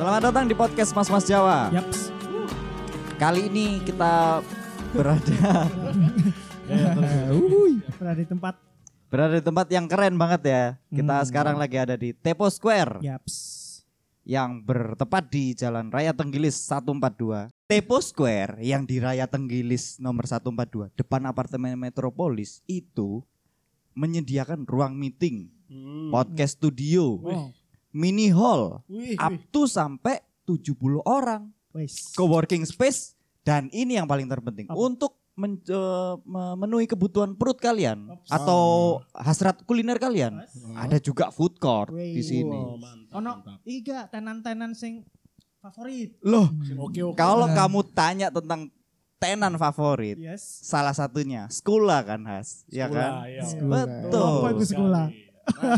Selamat datang di podcast Mas Jawa. Yaps. Kali ini kita berada berada di tempat yang keren banget ya. Kita sekarang lagi ada di Tepo Square. Yaps. Yang bertepat di Jalan Raya Tenggilis 142. Tepo Square yang di Raya Tenggilis nomor 142 depan apartemen Metropolis itu menyediakan ruang meeting, podcast studio, mini hall, up to sampai 70 orang, co-working space, dan ini yang paling terpenting untuk memenuhi kebutuhan perut kalian atau hasrat kuliner kalian. Ada juga food court di sini. Ono iga tenan-tenan sing favorit. Loh, Oke. kalau kamu tanya tentang tenan favorit, Yes. salah satunya Skula kan, Has, ya kan? Iya. Betul. Apa itu sekolah? Nah,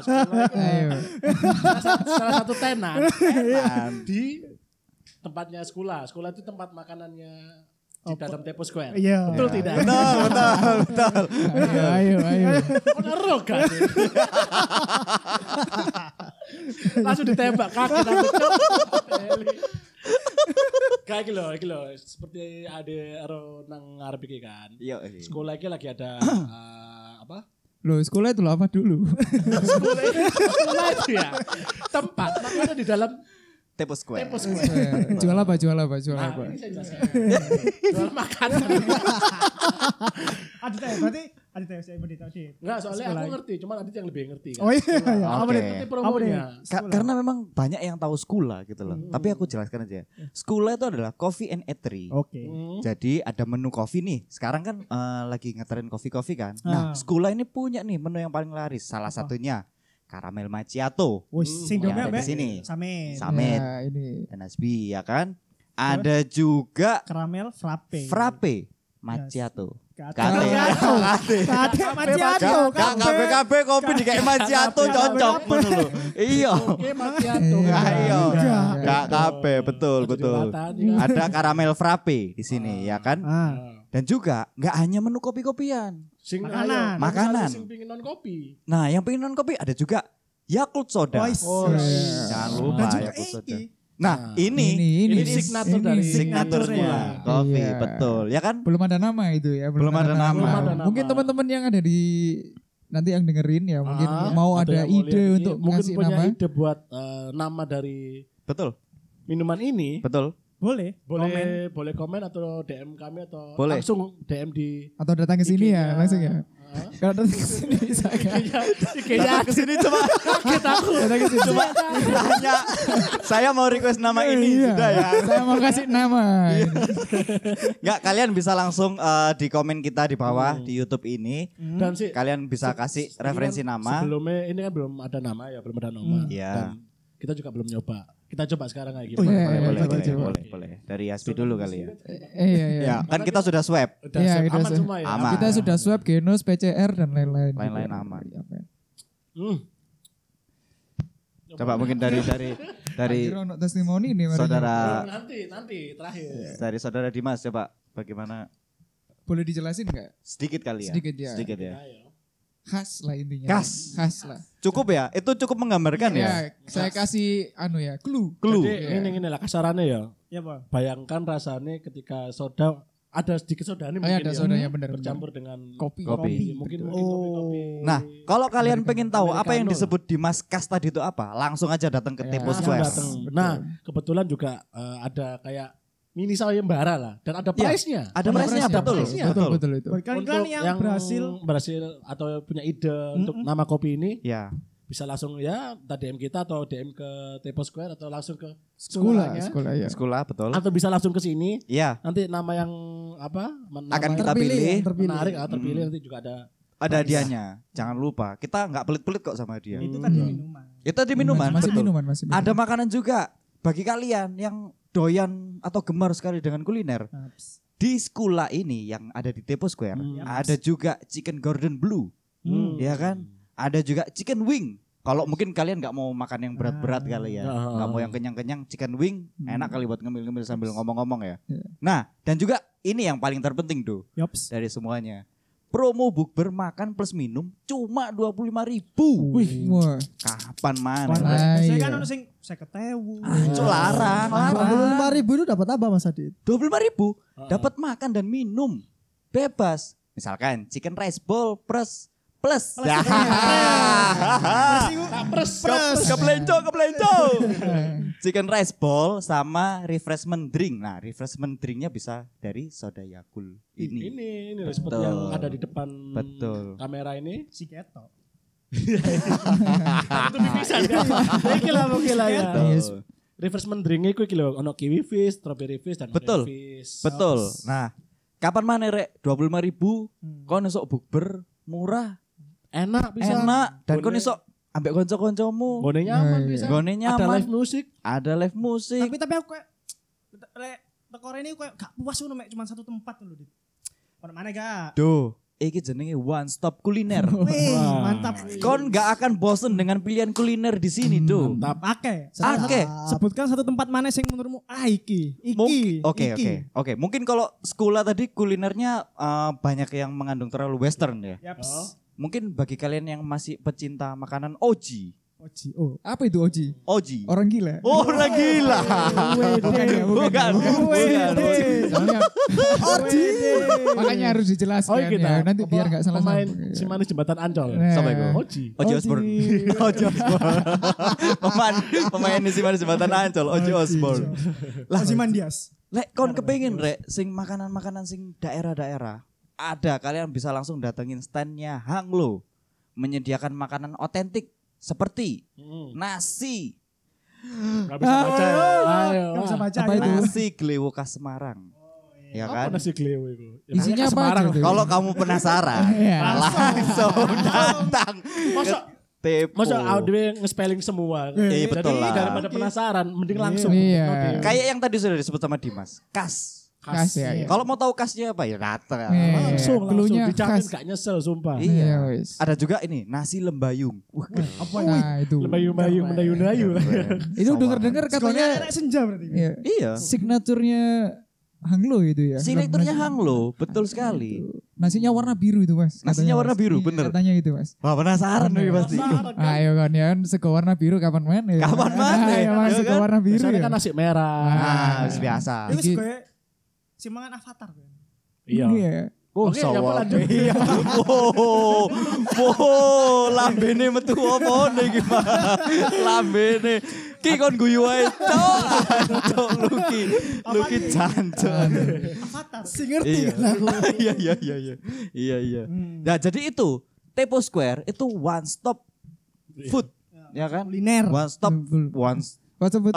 salah satu tenan di tempatnya sekolah. Sekolah itu tempat makanannya di dalam Tepo Square. Iya. Betul tidak? Betul. Ayo. Bener kan? Langsung ditembak kaget aku. Kayak iki lho, seperti ada nang ngarep iki kan. Iya. Sekolah iki lagi ada apa? Loh, sekolah itu apa dulu? Sekolah itu ya tempat makanya di dalam Tepo Square. Tepo Square. Jual apa? Nah, ini saya jelaskan. Jual makanan. Adit ya, berarti Adit ya, saya beritahu Adit. Enggak, soalnya aku ngerti, cuma Adit yang lebih ngerti kan. Oh iya. Oke. Apa Ngerti promonya. Karena memang banyak yang tahu Skula gitu loh. Tapi aku jelaskan aja. Skula itu adalah coffee and eatery. Oke. Jadi ada menu kopi nih. Sekarang kan lagi ngetren kopi-kopi kan. Nah, Skula ini punya nih menu yang paling laris. Salah satunya caramel macchiato. Wis sing Yang dome ada di sini. Samin. Samet Ya, ini. dan Asbi ya kan. Ada juga Karamel frappe. frappe macchiato. Kate Gak macchiato. KB kopi di kayak macchiato cocok ngono lho. Iya. Oke, macchiato. Ayo. Enggak. Gak KB betul. Ada caramel frappe di sini ya kan. Dan juga nggak hanya menu kopi-kopian. Makanan. Makanan. Sing pingin non kopi. Nah, yang pengen non kopi ada juga Yakult soda. Oh, Jangan lupa dan juga Yakult soda. iki. Nah, ini Ini signature dari signature signature-nya. kopi, Iya. betul. Ya kan? Belum ada nama itu ya. Belum ada nama. Belum ada nama. Mungkin teman-teman yang ada di nanti yang dengerin ya mungkin mau atau ada yang mau ide lihat ini, untuk mungkin ngasih punya nama. ide buat nama dari Betul. minuman ini. Betul. Boleh. Boleh komen atau DM kami atau Boleh. langsung DM di Atau datang ke sini ya IG-nya. langsung ya. Kalau datang ke sini bisa kan. Kayaknya Ke sini coba kita aku. Datang ke sini coba tanya. Saya mau request nama ini Iya. sudah ya. Saya mau kasih nama. Enggak, kalian bisa langsung di komen kita di bawah di YouTube ini. Dan sih Kalian bisa kasih referensi ini kan nama. Sebelumnya ini kan belum ada nama ya, belum ada nama. Iya. Dan kita juga belum nyoba. Kita coba sekarang kayak gini. Oh, iya, Boleh, iya, boleh, coba, boleh, coba. boleh. Dari Aspi dulu kali ya. Iya. Ya, kan kita sudah swab. Udah Iya, siap, kita aman sudah- semua ya. Aman. Kita sudah swab genus, PCR dan lain-lain. Lain-lain juga. aman. Iya, Pak. Coba mungkin dari Kira untuk testimoni nih Mari. saudara Nanti terakhir. dari saudara Dimas coba bagaimana Boleh dijelasin nggak? sedikit kali ya. Sedikit ya. Sedikit ya. Khas lah intinya. Khas. Khas lah. Cukup ya? Itu cukup menggambarkan ya? Saya kasih clue. Clue. Jadi ini lah kasarannya ya. Ya, Pak. Bayangkan rasanya ketika soda ada sedikit soda ini Oh ya mungkin ada ya. sodanya benar. Bercampur dengan Kopi. Mungkin Oh. kopi. Nah, kalau kalian pengen tahu apa yang Americano. disebut Dimas Kas tadi itu apa, langsung aja datang ke Ya, Tepo Langsung Square. datang. Nah, kebetulan juga ada kayak mini sayembara lah dan ada Iya, prize-nya. Ada price-nya, Ada betul. price-nya. Betul itu. Buat kalian yang berhasil atau punya ide untuk nama kopi ini Ya, bisa langsung ya entah DM kita atau DM ke Tepo Square atau langsung ke Sekolah sekolahnya. ya. sekolah betul. Atau bisa langsung ke sini. Iya, Nanti nama yang apa? akan yang kita pilih. menarik terpilih nanti juga ada. Ada hadiahnya. Jangan lupa, kita nggak pelit-pelit kok sama dia. itu tadi minuman. Itu di minuman, Masih betul. minuman, masih minuman. Ada makanan juga bagi kalian yang doyan atau gemar sekali dengan kuliner. Di sekolah ini yang ada di Tepo Square, ada juga chicken Gordon Blue. Ya kan? Ada juga chicken wing. Kalau mungkin kalian nggak mau makan yang berat-berat kali ya, nggak mau yang kenyang-kenyang, chicken wing enak kali buat ngemil-ngemil sambil ngomong-ngomong ya. Iya. Nah, dan juga ini yang paling terpenting tuh Yops. dari semuanya, promo bukber makan plus minum cuma 25.000. Wih, wah. Kapan mana? Saya Iya. kan ono sing 50.000. Ancol larang. 25.000 itu dapat apa Mas Adit? 25.000 dapat makan dan minum bebas. Misalkan chicken rice bowl plus. Ya. Keplenco. Chicken rice bowl sama refreshment drink. Nah, refreshment drinknya bisa dari soda Yakult ini. Ini seperti Betul. yang ada di depan Betul. kamera ini. Si ketok. Itu bisa kan? Iki lah mungkin lah ya. Betul. Refreshment drink iku iki lho, ono kiwi fish, strawberry fish dan Betul. orange fish. Betul. Nah, kapan mana rek 25.000 kon esok bukber murah, Enak bisa. enak dan kon Gone- esok ambek kanca-kancamu. Gone nyaman Iya. bisa. Gone Ada nyaman. live musik. Ada live musik. Tapi aku kayak lek teko rene kayak gak puas ngono mek cuma satu tempat lho, Dit. Ono mana gak? Duh, iki jenenge one stop kuliner. Wih, Wah. mantap. Kon gak akan bosen dengan pilihan kuliner di sini, do. Mantap. Oke. Oke. Sebutkan satu tempat mana yang menurutmu iki. Oke. Mungkin kalau sekolah tadi kulinernya banyak yang mengandung terlalu western ya. Yaps. Mungkin bagi kalian yang masih pecinta makanan Oji. Oji. Oh. Apa itu Oji? Oji. Orang gila. Oh, orang gila. Bukan ya, bukan. Soalnya makanya harus dijelaskan Oh kita ya. Nanti biar nggak salah pemain sambung. si manis jembatan Ancol. Nah. Sampai go. Oji. Oji Osborne. Oji Osborne. Pemain di mana jembatan Ancol, Oji Osborne. Oji Mandias. Lek kon kepengin rek sing makanan-makanan sing daerah-daerah. Ada kalian bisa langsung datengin standnya Hanglo. Menyediakan makanan otentik seperti nasi. Gak bisa baca ya. Ayo. Gak bisa baca. Apa ayo. itu? Nasi Glewo khas Semarang. Ya Apa kan? nasi gleo itu? Ya, Isinya makanya apa Semarang. aja tuh? Kalau kamu penasaran, Iya. langsung datang. Masa Tepo. masa audio nge-spelling semua. Iya, betul Jadi lah. daripada penasaran mending langsung. Iya. Kayak yang tadi sudah disebut sama Dimas, kas. Khas ya. Iya. Kalau mau tahu kasnya apa ya datang. Iya. Langsung Cluenya dijamin khas. gak nyesel sumpah. Iya. Iya, wis. Ada juga ini nasi lembayung. Wah, Apa ya? Nah, itu. Lembayu-bayu, mendayu-dayu. Itu denger-dengar Katanya katanya senja berarti. iya, Iya. signaturnya Hanglo itu ya. Signaturnya Hanglo, betul sekali. Nasinya warna biru itu, Mas. Nasinya Katanya, warna Mas. biru, Iya, bener. Katanya itu, Mas. Wah, penasaran nih pasti. Ayo kan ya, sego warna biru kapan mana ya? Kapan mana? Ayo Mas, Ya sego kan? warna biru Biasanya ya. kan nasi merah. Ah, biasa. Itu Iki- kayak si mangan avatar kan. Iya. Iya. Oh, Oke, ya, sawah. lanjut. Iya. Wow. Wow, lambene metu apa nih gimana? Lambene. Ki kon guyu ae, Cok. Cok Luki. Luki jancuk. Avatar. Si ngerti Iya. kan aku. Iya, iya, iya, iya. Iya, iya. Nah, jadi itu Tepo Square itu one stop food, ya kan? Kuliner. One stop, one. Kok sebut?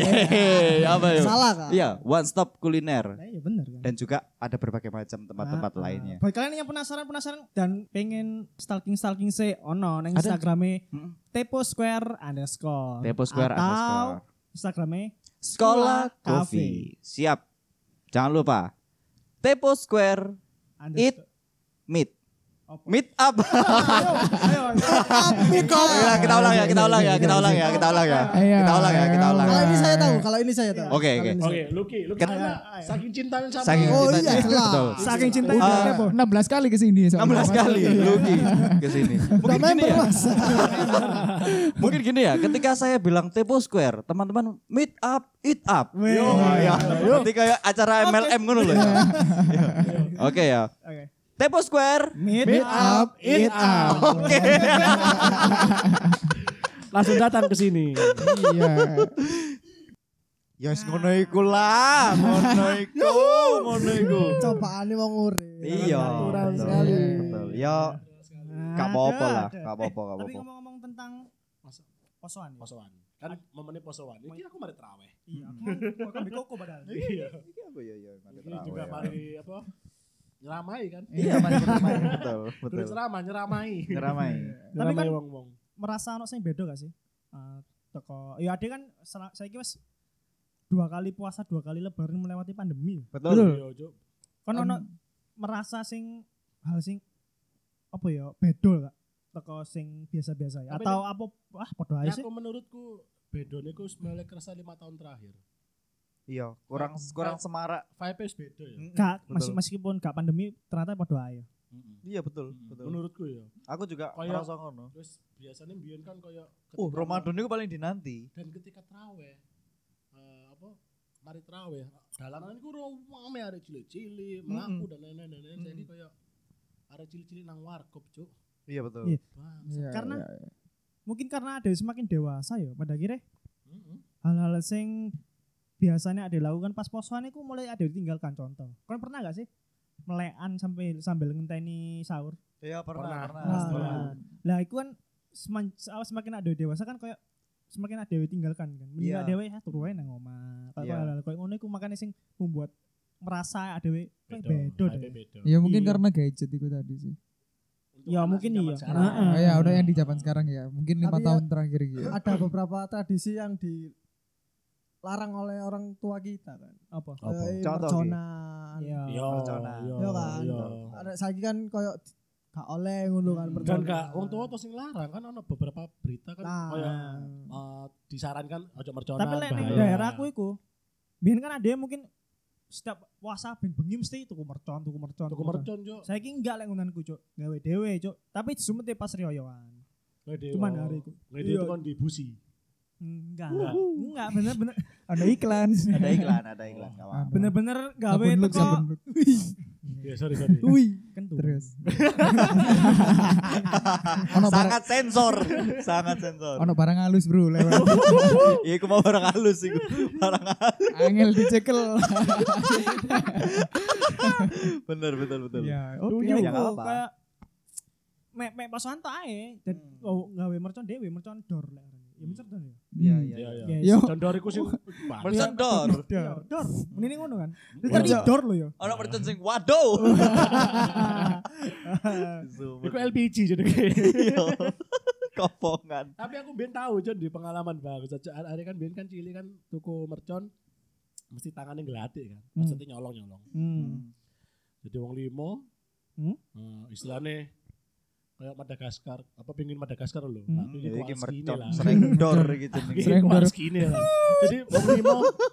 Apa ya? Salah kan? Iya, one stop kuliner. Nah, iya benar kan. Dan juga ada berbagai macam tempat-tempat lainnya. Buat kalian yang penasaran dan pengen stalking se ono nang Ada. Instagrame Mm-mm. Tepo Square _ Tepo Square atau Instagrame Sekolah Cafe. Coffee. Siap. Jangan lupa. Tepo Square Eat Meet. Meet up. Ayo. Ya, kita ulang ya. Iya. Kita ulang ya. Kita ulang ya. Kita ulang. Kalau ini saya tahu, kalau ini saya tahu. Oke, oke. Oke, Lucky Karena- saking cintanya sama Saking Oh, cintanya. iya, jelas. Betul. Saking cinta Tepo. 16 kali ke sini soalnya. 16 kali Luki ke sini. Mungkin gini member, ya. Mas. Mungkin gini ya, ketika saya bilang Tepo Square, teman-teman meet up, eat up. Wih. Ya, nanti kayak acara MLM ngono loh. Ya. Oke ya. Oke. Tepo Square. Meet Up, eat up. Oke. langsung datang ke sini. Iya. Ya wis ngono iku lah, ngono iku. Cobaane wong urip. Iya. Natural betul, sekali. Betul. Ya gak apa-apa lah, gak apa-apa, gak Tapi apa-apa. ngomong-ngomong tentang posoan. Ya? Posoan. Kan momennya posoan. Ini aku mari terawih. Iya. Aku kan koko padahal. Iya. Iya, Ini juga mari apa? Nyeramai kan? Iya, betul, Betul. Ceramah, nyeramai. Ngeramai. Tapi kan Nyeramai wong-wong. merasa ono sing beda gak sih? Teko ya ade kan saiki wis 2 kali puasa 2 kali lebaran melewati pandemi. Betul. Iya, Cuk. Kon ono merasa sing hal sing apa ya beda gak teko sing biasa-biasa ya Tapi atau apa padha ae Ya sih. aku menurutku bedone ku mulai kerasa 5 tahun terakhir. Iya, kurang semarak. Vibe beda ya. Gak Betul. meskipun gak pandemi ternyata padha ae. Iya betul, betul. Menurutku ya. Aku juga Kayak- merasa ngono. Terus biasanya mbiyen kan kayak Ramadan itu paling dinanti. dan ketika traweh mari traweh dalanan iku rame arek cilik-cilik mlaku dan lain-lain jadi kayak arek cilik-cilik nang warkop cuk. Iya betul. Iya. Bang. Iya, Karena- iya, iya. Mungkin karena ada semakin dewasa ya pada akhirnya Heeh. hal-hal sing biasanya ada dilakukan pas posoan itu mulai ada ditinggalkan. Contoh, kalian pernah gak sih melekan sambil ngenteni sahur? Iya Pernah. pernah. Nah, lah itu kan semakin ada dewasa kan kayak semakin ada ditinggalkan kan. Mending Iya. ada dewe turu wae nang omah. Kayak Iya. hal-hal kayak ngono iku makanya sing membuat merasa ada dewe kayak Beda, beda deh. beda. Ya mungkin Iya. karena gadget itu tadi sih. Untuk Ya, anak mungkin zaman iya. sekarang. Heeh. Ya udah yang di zaman sekarang ya. Mungkin 5 Tapi ya- tahun terakhir gitu. Ada beberapa tradisi yang dilarang oleh orang tua kita kan. Apa? Apa? Kayak Contoh, merconan. Iya. Yo, Merconan. Iya kan. yo. Ada saiki kan koyo gak oleh ngono kan Dan merconan. gak wong tua tuh sing larang kan ono beberapa berita kan Nah. kayak disarankan ojo merconan. Tapi lek ning bahaya. daerahku iku biyen kan ada yang mungkin setiap puasa ben bengi mesti tuku mercon. tuku mercon yo. Saiki enggak lek ngunanku, Cuk. Gawe dhewe, Cuk. Tapi disumete pas riyoyoan. Cuman Cuman hari iku. Ngede itu kan dibusi. Enggak. Enggak bener-bener Ada iklan. Ada iklan, ada iklan. Gak apa-apa. bener-bener gawe Sabun look, teko. sabun look. Ya sorry. Wih, kentu. Terus. Ono barang Sangat sensor, sangat sensor. ono barang halus, Bro, lewat. Iya, aku mau barang halus iku. Barang halus. Angel dicekel. Bener, betul. Ya, Oh, oke. iya, ya nggak iku apa. kayak mek pasokan tok ae. Dan gawe mercon dhewe, mercon dor lek arane. Ya mercon dor ya. Iya, Hmm. iya. Iya. Yes. Yo. Condor iku sing Mercon dor. Dor. Mending ngono kan. Terus Iya. tadi dor lo ya. Ono mercon sing waduh. iku LPG jenenge. Iya. Kopongan. Tapi aku ben tahu Jon di pengalaman bagus. Ada kan ben kan cilik kan tuku mercon mesti tangannya ngelatik kan. Maksudnya nyolong. Jadi wong limo istilahnya kayak Madagaskar, apa pengin Madagaskar lho. Tapi Jadi iki segini mercon lah. sering dor iki jenenge. Sering segini lah. Jadi wong limo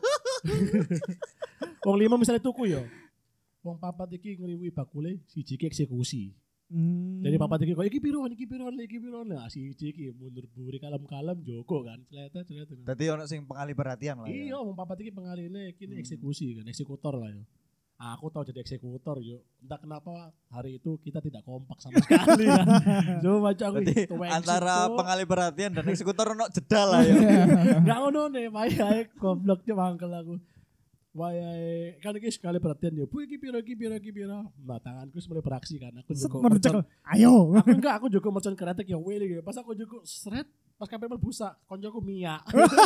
wong limo misalnya tuku ya. Wong papat iki ngriwi bakule siji ki eksekusi. Jadi papat iki kok iki piro. Nah siji iki mundur buri kalem-kalem joko kan. Celete. Dadi ono sing pengalih perhatian lah. Iya, wong papat iki pengaline kini eksekusi kan, eksekutor lah ya. Aku tahu jadi eksekutor yo. Entah kenapa hari itu kita tidak kompak sama sekali kan. Coba baca aku Berarti tuwek antara situ. pengalih perhatian dan eksekutor ono jeda lah ya. Enggak ngono nih, wayahe goblok mangkel aku. Wayahe kan iki sekali perhatian yo. Bu iki piro. Nah, tanganku wis mulai beraksi kan. Aku juga Mercon. Ayo. aku juga mercon kretek ya wele gitu. Pas aku juga seret pas kabeh busa, koncoku Mia.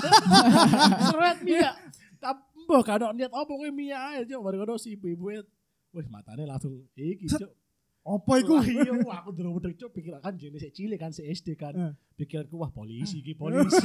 Seret Mia. Mbah gak ada niat apa kowe Mia ae cuk, baru si ibu-ibu wis matane langsung iki cuk. Apa iku? Wah, iya, wah, aku dulu udah cuk pikir kan jenis sik cilik kan si SD kan. Pikiranku wah polisi iki.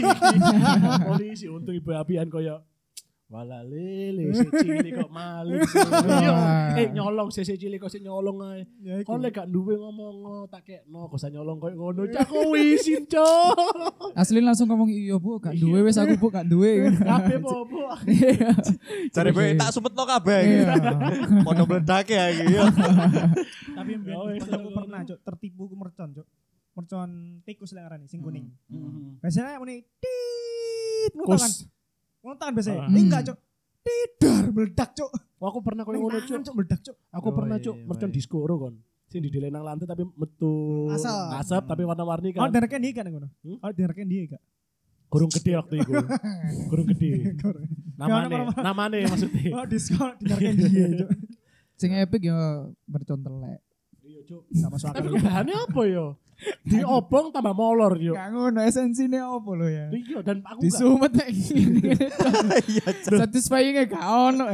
Polisi untung ibu apian koyo wala lele si cilik kok maling sih. Iya, nyolong si cilik kok sik nyolong ae. Ya iku. Kon lek gak duwe ngomong tak kekno kok usah nyolong koyo ngono. Cak aku wisin cuk. Asli langsung ngomong iya, Bu, gak duwe wis aku, Bu, gak duwe. Kabeh bobo. Cari bae tak sumetno kabeh iki. Iya. Padha mledake ya iki. Tapi mbien Oh, iya. aku pernah, Cuk, tertipu ku mercon, Cuk. Mercon tikus lek arane sing kuning. Hmm. Biasanya muni tit Kus. kan. Ngontan biasanya. Ah. Enggak, Cuk. Tidar meledak, Cuk. Wah, aku pernah koyo ngono cuk. Cuk, meledak, Cuk. Aku Oh, pernah iya, cuk iya, mercon iya. diskoro kon. Sing dideleng nang lantai tapi metu Asap. tapi warna-warni Oh, kan. dereknya dia kan ngono. Hmm? Oh, dereknya dia gak. Kurung gede waktu itu. Kurung gede. Gimana, Namane maksudnya. Oh, diskon dereknya dia, Cuk. Sing epic ya mercon telek. Iya cuk. Gak masuk akal. Tapi kok bahannya apa yo? Diobong tambah molor yo. Gak ngono esensine opo lho ya. Iya dan aku gak. Disumet nek ngene. Iya, Satisfying gak ono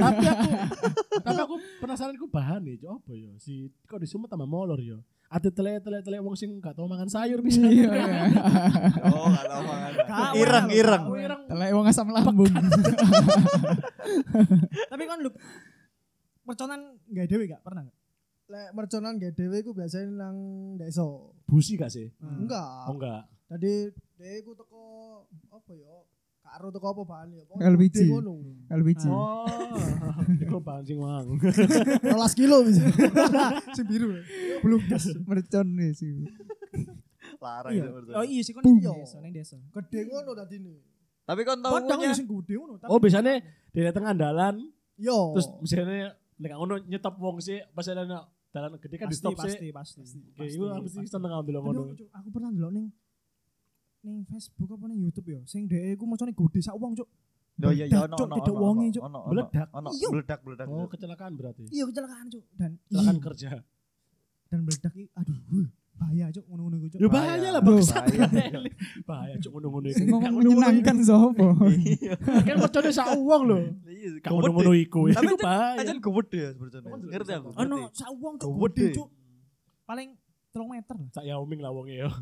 Tapi aku penasaran ku bahan nih, cuk apa yo? Si kok disumet tambah molor yo. Ada telek wong sing gak tau makan sayur bisa. Iya, iya. Oh, enggak tahu mangan. Kak, Ireng. Oh, ireng. Telek wong asam lambung. Tapi kan lu merconan gak dewe gak pernah gak? Lek merconan gak dhewe iku biasanya nang desa. Busi gak sih? Enggak. Oh enggak. Tadi dhewe ku teko apa ya? Karo teko apa bahan ya? LPG. Gede ngono. LPG. Oh, iku bahan sing mang. 12 kilo bisa. Sing biru. Belum gas. Mercon nih sih. Larang Iya. itu menurut Oh saya. iya sih kon ning Iya. desa, ning desa. Gede ngono dadine. Tapi kon tahu Kodang punya sing gede ngono. tapi- Oh, biasanya di tengah dalan Yo. terus misalnya nek ngono nyetop wong sih pas ada dalan gede kan di pasti stop sih. pasti. Oke, iku aku sih seneng ambil Tapi ngono. aku pernah ndelok ning Facebook apa ning YouTube ya, sing dhek iku macane gede sak wong, Cuk. Oh iya iya ono Cuk, ono. tidak wonge, Cuk. Meledak. Ono Iya. meledak. Oh, kecelakaan berarti. Iya kecelakaan, Cuk. Dan Kecelakaan kerja. dan meledak iki aduh, bahaya, Cuk, ngono-ngono iku, Cuk. Ya bahaya lah Bro. bangsa. Bahaya. Bahaya cuk ngono-ngono Sing iku. ngomong menyenangkan sopo? Kan percaya sak wong lho. Iya, Gak ngono-ngono iku. Tapi Iku bahaya. aja gede ya sebenarnya. Ngerti aku. Ono sak wong, Cuk, Gede. gede, Cuk. Paling 3 meter lah. Sak Yaoming lah wonge ya.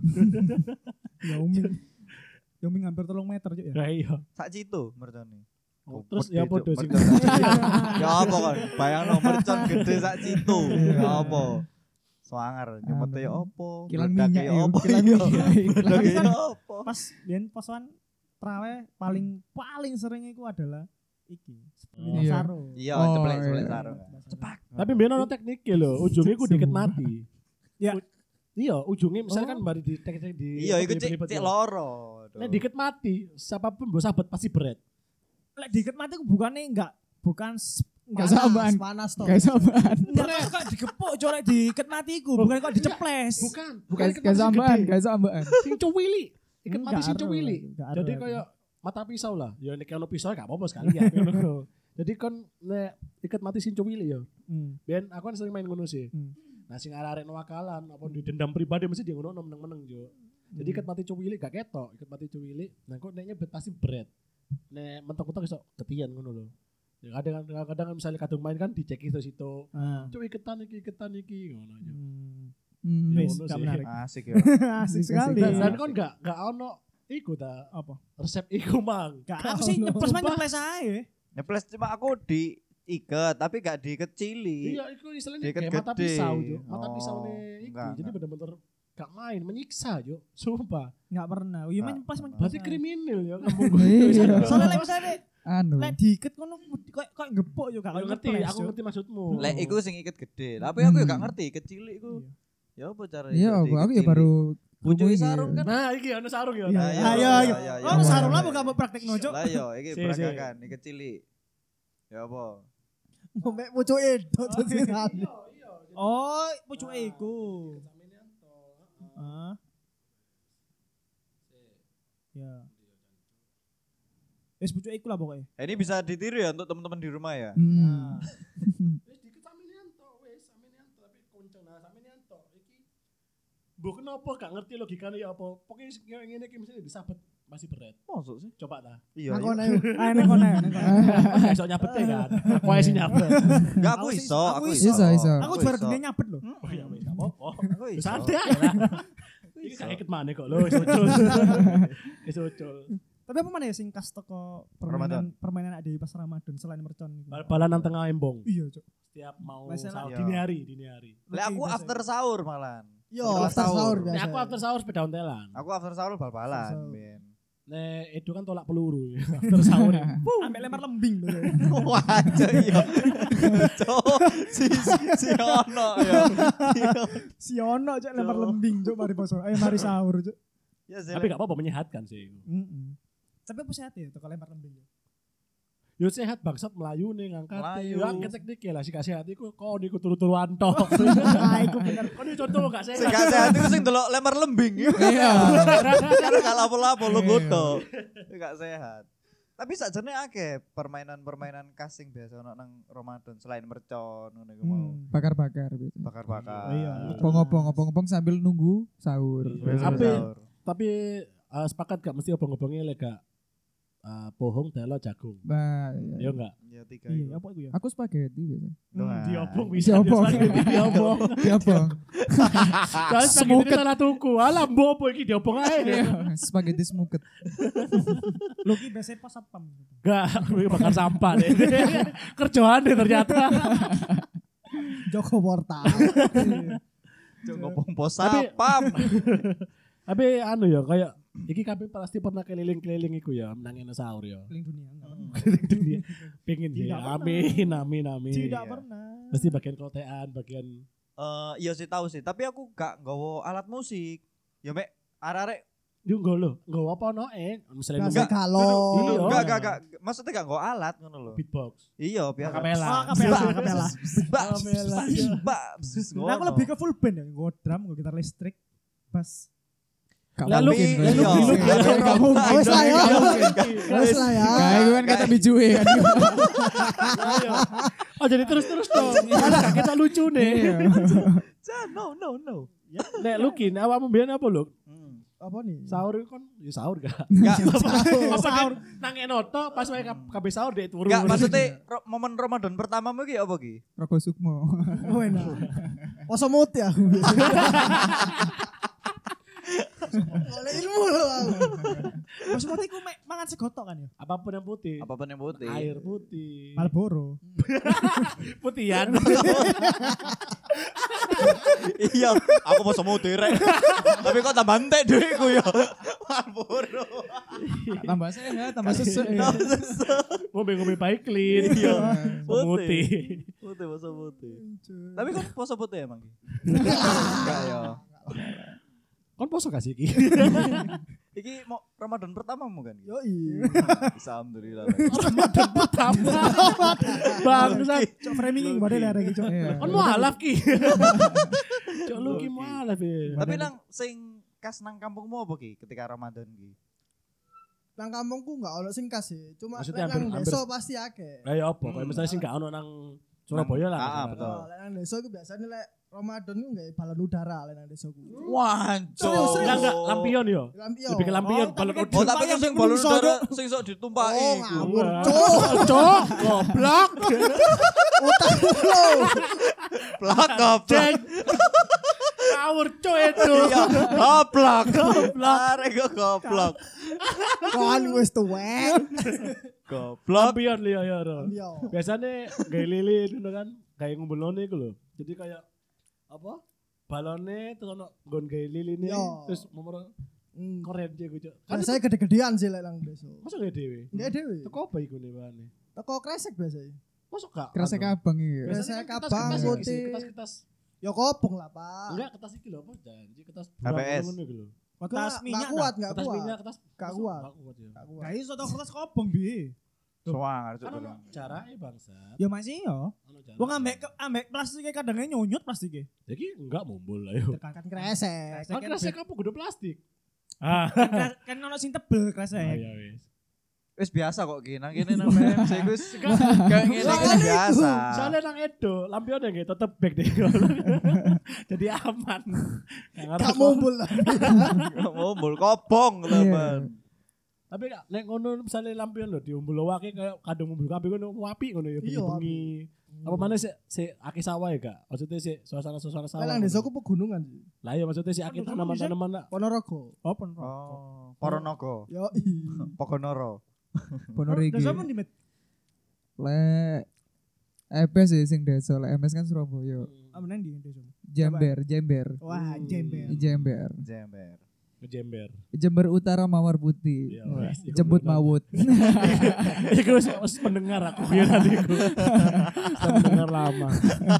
Yauming hampir 3 meter, Cuk ya. Lah iya. Sak citu mercone. Oh, terus ya podo sing Ya apa kan? Bayangno mercon gede sak citu. Ya apa? Swanger nyemete ya apa? Kilang Meledak minyak ya ya, apa? kilang Iya. minyak. Meledak ya apa? Pas biyen posoan trawe paling sering iku adalah iki. Iya. Sarung. Iya, Oh, ceplek iya. sarung. Cepak. Tapi biyen ono tekniknya lho, ujungnya ku dikit mati. Ya. Iya, ujungnya misalnya kan mari di Iya, iku cek loro. Nek dikit mati, siapapun mbok sahabat pasti berat. Lek diket mati ku bukan Gak sabaran. Panas toh. Gak sabaran. enggak kok digepuk corek diket mati iku, bukan kok diceples. Bukan Gak sabaran, gak sabaran. Sing cuwili. Iket mati sing Enggak cuwili. aru, enggak aru Jadi aku. kayak mata pisau lah. Ya nek ono pisau gak apa-apa sekali ya. Jadi kon nek iket mati sing cuwili ya. Ben aku kan sering main ngono sih. Nah sing arek wakalan apa di dendam pribadi mesti dia ngono meneng-meneng jo. Jadi iket mati cuwili gak ketok, iket mati cuwili. Nah kok neknya pasti berat. Nek mentok-mentok iso ketian ngono lho. Ya kadang misalnya kadung main kan dicek situ. Cuk iketan iki ngono aja. Ya, Wis, ngono gak sih. menarik. Asik ya. Asik sekali. Dan kon gak ono iku ta Apa? resep iku mang. Gak aku sih nyeples ae. Nyeples cuma aku diikat tapi gak dikecili. Iya, iku istilahnya Diiket kayak mata gede. pisau, Jo. Mata Oh, pisau nih iku. enggak, Jadi enggak. bener-bener gak main, menyiksa, Jo. Sumpah. Enggak pernah. Iya Nah, nyeples Berarti kriminal ya kamu. Iya. Soalnya lek misalnya Anu. lek diiket ngono kok gepuk yo gak Aku ngerti, nyeples, aku Cuk. ngerti maksudmu. Lek iku sing iket gede. Tapi aku ya gak ngerti kecil iku. Ya apa cara Iya, aku ya baru pucuk krungu sarung iki. kan. Nah, iki ono sarung ya. Iya, Nah, iya, iya, iya. iya, iya. Oh, sarung lah Iya. bukan praktek nojo. Lah yo iki Si, si. peragakan iket cilik. Ya apa? Mbek pucuke tok sesisan. Oh, pucuke iku. Heeh. Ya. Wis pucuke iku lah pokoknya. Ini bisa ditiru ya untuk teman-teman di rumah ya. Hmm. Wis dikit sampeyan tok, wis sampeyan tok tapi konceng nah sampeyan tok iki. Mbok kenapa gak ngerti logikane ya apa? Pokoknya yang ngene iki mesti disabet masih berat. Masuk sih. Coba ta. Iya. Aku iya. ayo. Ah nek kono. Gak iso nyabete kan. Aku ae sing nyabet. Enggak aku Aku sih- iso, aku aku iso. iso. Iso. Aku juara dunia nyabet loh. Oh iya wis gak apa-apa. Aku iso. Santai lah. Iki gak iket maneh kok lho, wis ucul. Wis ucul. Tapi apa mana ya sing kas toko permainan ada di pas Ramadan selain mercon gitu. Bal-balan nang tengah embong. Iya, Cuk. Setiap mau Masalah- sahur, Iya. dini hari. Lek aku after sahur malan. Yo, Setelah after sahur Nek biasa. aku after sahur sepeda ontelan. Aku after sahur bal-balan, Sahur. Ben. Nek Edo kan tolak peluru after sahur. Ambek lempar lembing tuh. Wah, aja iya. Cok, si ono ya. Si ono Cuk lempar Cuk. lembing Cuk mari poso. Ayo mari sahur Cuk. Ya Tapi gak apa-apa menyehatkan sih. Tapi apa sehat ya toko lempar lembing. Yo sehat bangsat melayu nih ngangkat. Melayu. Ya teknik ya lah sih kasih hati ku kok niku turu-turuan tok. Ah, iku bener. Kok ini contoh gak Sing sehat. gak sehat iku sing delok lempar lembing. Iya. Karena gak lapo-lapo lu Iya. goto. Gak sehat. Tapi sakjane akeh permainan-permainan kasing biasa ono nang Ramadan selain mercon ngono iku mau. Bakar-bakar gitu. Bakar-bakar. Iya. Ngopong-ngopong sambil nunggu sahur. Sambil Tapi sahur. tapi sepakat gak mesti obong-obongnya lek gak pohong telo jagung. Bah, Ya enggak. Ya tiga Iya, iku. apa iku ya? aku spaghetti biasanya. Nah. Diobong bisa. Diobong. Diobong. Diobong. Jangan spaghetti salah tuku. Alah mbok apa iki diobong ae. Spaghetti smuket. Lu ki biasanya pas satpam. Enggak, kuwi bakar sampah deh. Kerjaan deh ternyata. Joko Portal. Cok ngopong pos Tapi- sapam. Tapi anu ya kayak Iki kabeh pasti pernah keliling-keliling iku ya, menangin sahur ya. Keliling dunia enggak pernah. Keliling dunia. Pengen Tidak ya. pernah. Amin. Tidak Iya. pernah. Mesti bagian kotean, bagian Iya sih tahu sih, tapi aku gak nggawa alat musik. Ya mek arek-arek yo nggo apa ono misalnya Biasa Enggak, galon. Iya. enggak. Maksudnya gak nggawa alat ngono lho. beatbox. Iya, biasa. Kapela. Oh, kapela. Kapela. Nah, aku lebih ke full band ya, gue drum, gue gitar listrik, bass. Lalu iya. Kamu wes lah ya. Wes lah ya. Kayak gue kan kata bijuwe kan. Oh jadi terus dong. Ada kita lucu nih. No. Nek lu kin awakmu mbiyen apa lho? Apa nih? Sahur kan ya sahur gak? Enggak, Sahur nang enoto pas wae kabeh sahur dek turu. enggak maksudnya momen Ramadan pertamamu ki apa ki? Roko Sukmo. Oh enak. Poso mut ya. Oleh ilmu loh aku. Maksudnya aku mangan segotok kan ya? Apapun yang putih. Apapun yang putih. Air putih. Marlboro. Putihan. Iya, aku mau semut rek. Tapi kok tambah entek dhuwitku ya. Marlboro. Tambah sehat, tambah sesek. Ngombe-ngombe baik clean. Iya. Putih. Putih, poso putih. Tapi kok poso putih emang ki? Enggak ya. Kon poso kasih iki. Iki mau Ramadan pertamamu kan? Yo i. Alhamdulillah. Ramadan pertama. Bangsat. Cok framing badhe lah iki, Cok. Kon mualaf ki. Cok lu ki mualaf ya. Tapi nang sing kas nang kampungmu apa ki ketika Ramadan ki? Nang kampungku enggak ono sing kas sih. Cuma Maksudnya lek nang hampir- desa pasti akeh. Lah ya apa? Kayak misalnya sing gak ono nang Surabaya lah. Ah, misalnya. betul. Oh, lek nang desa ku biasanya lek Ramadan ku enggak balon udara lek nang desaku. Wancuk. Enggak lampion yo. Lampion. Lebih ke lampion balon tapi Oh, tapi kan sing balon Menungso, udara Cok. sing sok ditumpaki. Oh, iku. ngawur. Cok, goblok. Plak goblok. Cek. Ngawur cok itu. Iya, goblok. Arek kok goblok. Kon wis tuwek. Goblok. Lampion liya ya. Lampion. Biasanya kayak lilin gitu kan. Kayak ngumpulone iku lho. Jadi kayak apa? Balone terus ono nggon gawe liline Yo. terus nomor Hmm. keren dia gue cok. Kan Biasanya gede-gedean sih lek nang desa. masa gak dewe? Enggak dhewe. Teko apa iku nih bahannya? Teko kresek biasanya. Masa gak? Kresek abang iki. Biasanya Kresek kan abang, kertas putih. Kertas. Ya kobong lah, Pak. Enggak kertas iki lho apa janji kertas HPS. ngono iku lho. Kertas minyak. kuat, enggak Kertas kuat. minyak, kertas Gak masa kuat. Gak kuat ya. Gak kuat. Gak iso tok kertas kobong bi. Soang arek Kan cuk. ono jarake bangsat. Ya masih yo. Ono jarake. Wong ambek plastiknya kadangnya nyonyot plastiknya. Jadi enggak mumbul lah yo. Tekan Kresek. Kan kresek apa kudu plastik? Ah. kan ono sing tebel kresek. Ya wis. Wis biasa kok ki nang kene nang MC wis kayak ngene iki biasa. Soalnya nang Edo, lampion yang tetep back deh. Jadi aman. Gak mumbul lah. Ngombol kobong teman. Tapi nek ngono misalnya lampion lho diumbul wake kayak kadung umbul kabeh ngono wapi ngono ya Iya, bengi. Apa mana sih akeh sawah ya gak? Maksudnya sih suasana-suasana sawah. Lek nang desaku pegunungan sih. Lah ya maksudnya sih akeh tanaman-tanaman lah. Ponorogo. Open rock. Oh, Poronogo. Yo Pogonoro. Ponor iki. Desa pun di met. Lek EPS sih sing desa, lek MS kan Surabaya. Apa nang di desa? Jember. Wah, jember. Jember. Jember. Ngejember. Jember Utara Mawar Putih. Iya, Wah, wes, iku Jembut bener. Mawut. Iku wis pendengar aku ya tadi iku. Pendengar lama.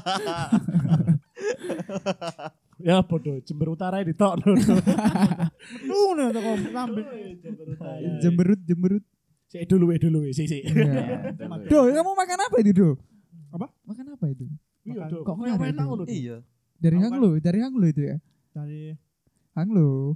Ya podo Jember Utara ditokno. Ngono to kok lambe. Jember Utara. Jemberut. Sik dulu sik. Iya. Do, kamu makan apa itu, Do? Apa? Makan apa itu? Iya, Dok. Kok Kok nggak ada enak itu? ngono. Iya. Dari Aku Hanglo itu ya? Dari Hanglo.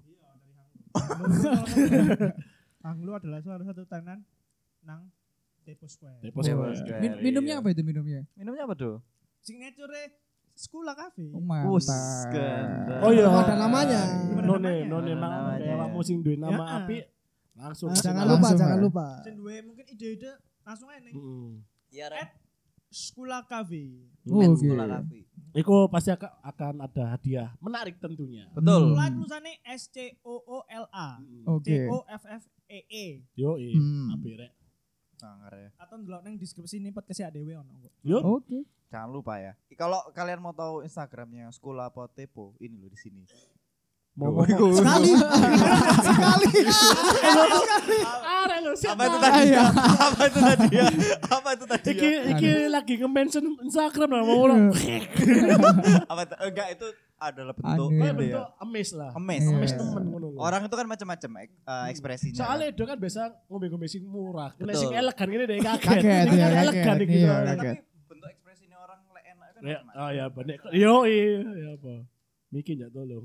Anglo adalah salah satu tenan nang Depo Square. Depo Square. Square. Minumnya apa itu minumnya? Minumnya apa tuh? Signature Sekolah Cafe. Oh, Wus, mantap. ganda. Oh iya. Ada namanya. None Ada mang namanya. kayak awakmu sing duwe nama Ya. apik langsung. Jangan Langsung, lupa, ya. jangan lupa. Sing duwe mungkin ide-ide langsung aja nih. Heeh. Iya, Sekolah Cafe. Oh, Men oke. Sekolah Cafe. Iku pasti akan ada hadiah menarik tentunya. Betul. Sekolah tulisannya SCOOLA. Oke. COFFEE. Yo apik rek. Sangar ya. Atau ndelok nang deskripsi ini podcast dhewe ono kok. Yo. Oke. Jangan lupa ya. Kalau kalian mau tahu Instagramnya Sekolah apa Tepo, ini loh di sini. Mau Sekali. Sekali. Are lo siapa? Apa itu tadi? Iya. Apa itu tadi? Apa itu tadi? Iki lagi nge-mention Instagram lah mau ulang. Apa itu? Enggak, itu adalah bentuk Aneh. Kayak itu ya. bentuk emes lah. Emes. Iya. Emes temen ngono lho. Orang itu kan macam-macam ekspresinya. Soalnya itu kan biasa ngombe-ngombe sing murah. Nek Betul. sing elegan ngene deh kaget. Kaget, Ini iya, kan kaget. elegan iki. Iya, Nah, kaget. tapi bentuk ekspresinya orang lek enak kan Ya, macam-macam. oh ya bener. Yo ya apa. Miki ndak tolong.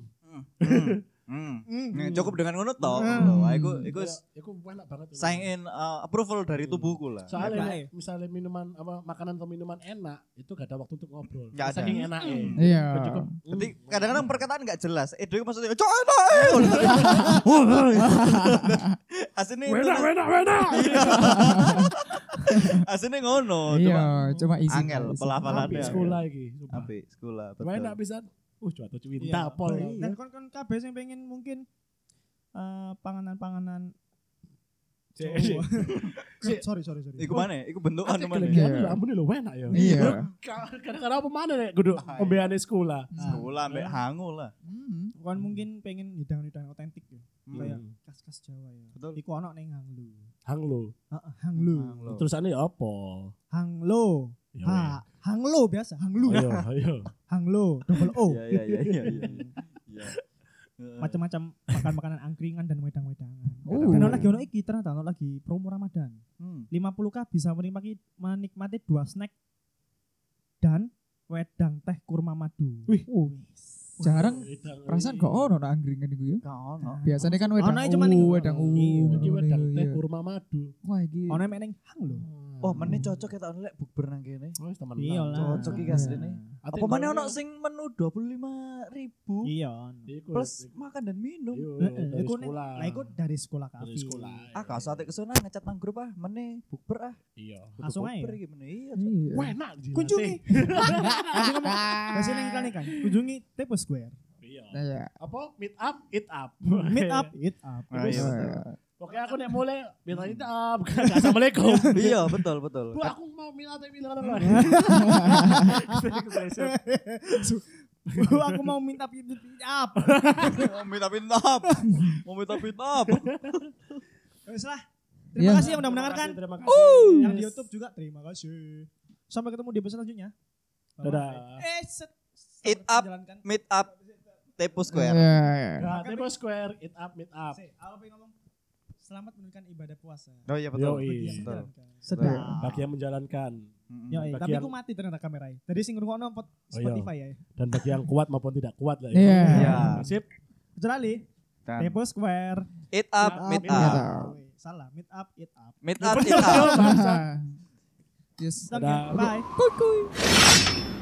Cukup dengan ngono toh. Aku Iku enak banget. sign in approval dari tubuhku lah. Soalnya nek misalnya minuman apa makanan atau minuman enak itu gak ada waktu untuk ngobrol. Nggak ada. Saking enaknya. Iya. Cukup. Jadi kadang-kadang perkataan nggak jelas. Itu maksudnya cok enak. Aslinya itu. Wena. Aslinya ngono. Iya, cuma isi. angel pelafalannya. Apik sekolah iki. Apik sekolah. Betul. Enak pisan. Jatuh Iya. cinta pol. Dan kon kabeh sing pengen mungkin panganan-panganan Cek. sorry. Iku mana? Iku bentukan Ate mana? kelebihan Iya. lho ampun lho enak ya. Iya. Kadang-kadang apa mana nek kudu ombeane sekolah. Sekolah ambek hangu lah. kon mungkin pengen hidangan-hidangan otentik ya. Kayak Hmm. khas-khas Jawa ya. Betul. Iku ono ning Hanglu. Hanglo. Heeh, Hanglu. Hanglo. Terusane apa? Hanglo. Ya, Ha, Hanglo biasa, Hanglu. Ayo. Hanglo, double O. Iya. Macam-macam makan-makanan angkringan dan wedang-wedangan. Oh. Dan ono lagi ono iki ternyata ono lagi promo Ramadan. Hmm. 50k bisa menikmati 2 snack dan wedang teh kurma madu. Wih. Jarang perasaan kok ono nak angkringan iku ya. Gak ono. Biasanya kan wedang Ono aja cuman iku. wedang Iya, iki ngono, wedang teh iya. kurma madu. Wah iki. Ono meneng hang lho. Oh, meneh cocok kita lek bukber nang kene. Oh, teman. Iya lah. Cocok iki Iya. asline. Apa mana ono sing menu 25.000 Iya. plus makan dan minum. dari Iku sekolah. Lah iku dari sekolah kafe. Dari sekolah. Ah, kau sate kesana ngecat nang grup ah, meneh bukber ah. Iya. Kudu Langsung aja bukber ya? iki meneh. Iya. Iya. Wah, enak jilat. Kunjungi. Langsung ngomong. Kasih ning iklan kan. Kunjungi Tepo Square. Iya. Iya. Apa? Meet up, eat up. Meet up, eat up. Ah, Terus, iya. Oke, aku nek mulai minta eat up. Assalamualaikum. Iya, betul. Bu, aku mau minta Bu, aku mau minta eat up. Mau minta pinap. Mau minta pinap. Wes lah. Iya. Terima kasih yang udah mendengarkan. Terima kasih. Yang di YouTube juga terima kasih. Sampai ketemu di episode selanjutnya. Dadah. Eat up. Jalankan. Meet up Tepo Square. Iya. Nah, Tepo Square, eat up, meet up. Aku pengen ngomong selamat menunaikan ibadah puasa. Oh iya betul. Yoi. Bagi yang Betul. menjalankan. Sedap. Bagi yang menjalankan Yo, Bagi tapi yang- aku mati ternyata kameranya. Tadi sing ngrungokno Oh, iya. Spotify ya. dan bagi yang kuat maupun tidak kuat lah. Iya. Iya. Sip. Kecuali Dan Tepo Square. eat up, meet Meet up. Woi, salah, meet up, eat up. Meet up, eat up. Yes. Oke, Dadah. bye.